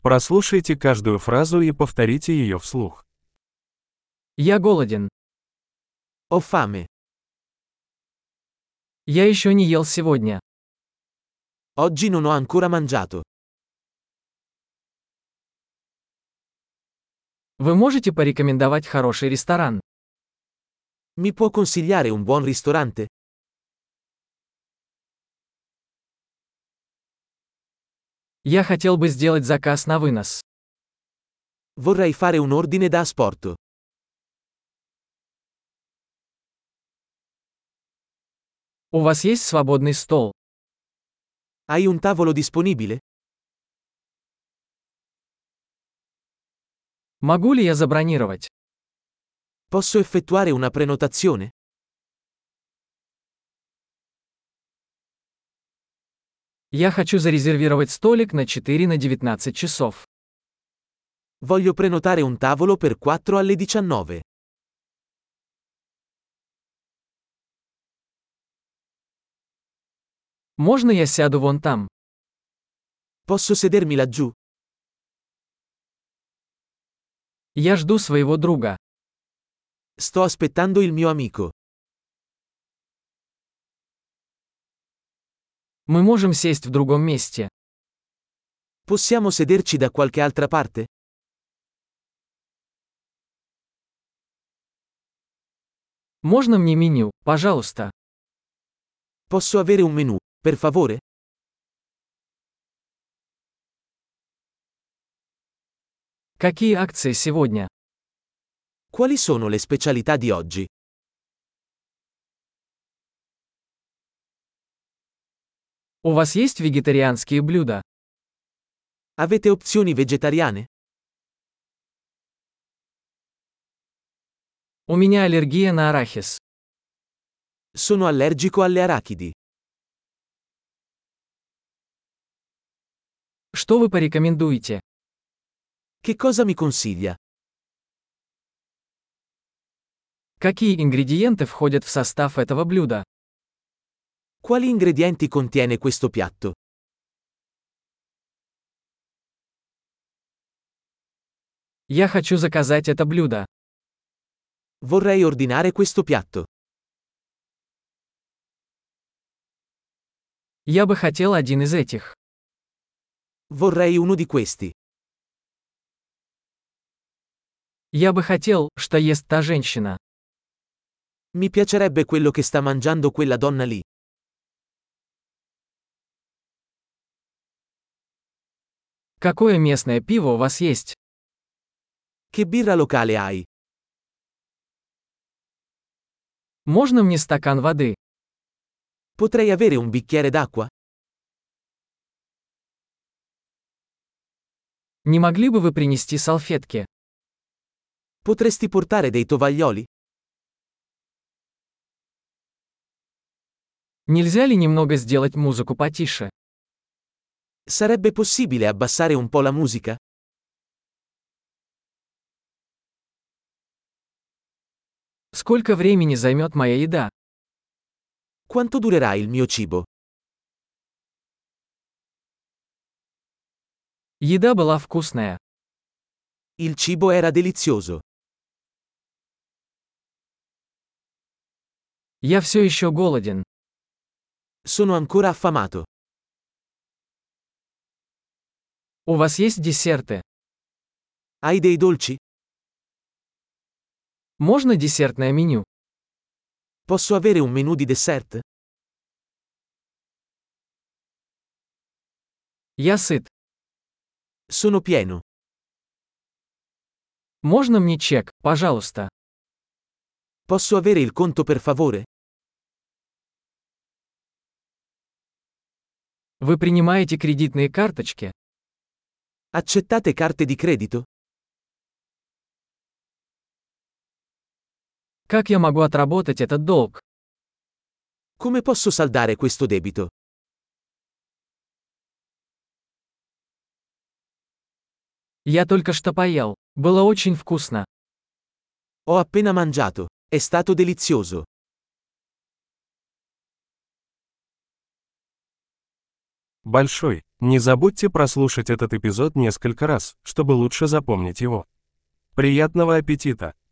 Прослушайте каждую фразу и повторите ее вслух. Я голоден. Ho fame. Я еще не ел сегодня. Oggi non ho ancora mangiato. Вы можете порекомендовать хороший ресторан? Mi può consigliare un buon ristorante? Я хотел бы сделать заказ на вынос. Vorrei fare un ordine da asporto. У вас есть свободный стол? Hai un tavolo disponibile? Могу ли я забронировать? Posso effettuare una prenotazione? Я хочу зарезервировать столик на 4 на 19 часов. Voglio prenotare un tavolo per 4 alle 19. Можно я сяду вон там? Posso sedermi laggiù? Я жду своего друга. Sto aspettando il mio amico. Мы можем сесть в другом месте. Possiamo sederci da qualche altra parte? Можно мне меню, пожалуйста? Posso avere un menù, per favore? Какие акции сегодня? Quali sono le specialità di oggi? У вас есть вегетарианские блюда? Avete opzioni vegetariane? У меня аллергия на арахис. Sono allergico alle arachidi. Что вы порекомендуете? Che cosa mi consiglia? Какие ингредиенты входят в состав этого блюда? Quali ingredienti contiene questo piatto? Я хочу заказать это блюдо. Vorrei ordinare questo piatto. Я бы хотел один из этих. Vorrei uno di questi. Я бы хотел, что ест та женщина. Mi piacerebbe quello che sta mangiando quella donna lì. Какое местное пиво у вас есть? Che birra locale hai? Можно мне стакан воды? Potrei avere un bicchiere d'acqua? Не могли бы вы принести салфетки? Potresti portare dei tovaglioli? Нельзя ли немного сделать музыку потише? Sarebbe possibile abbassare un po' la musica? Сколько времени займет моя еда? Quanto durerà il mio cibo? Еда была вкусная. Il cibo era delizioso. Я все еще голоден. Sono ancora affamato. У вас есть десерты? Hai dei dolci? Можно десертное меню? Posso avere un menù di dessert? Я сыт. Sono pieno. Можно мне чек, пожалуйста? Posso avere il conto per favore? Вы принимаете кредитные карточки? Accettate carte di credito? Как я могу отработать этот долг? Come posso saldare questo debito? Я только что поел. Было очень вкусно. Ho appena mangiato. È stato delizioso. Большой. Не забудьте прослушать этот эпизод несколько раз, чтобы лучше запомнить его. Приятного аппетита!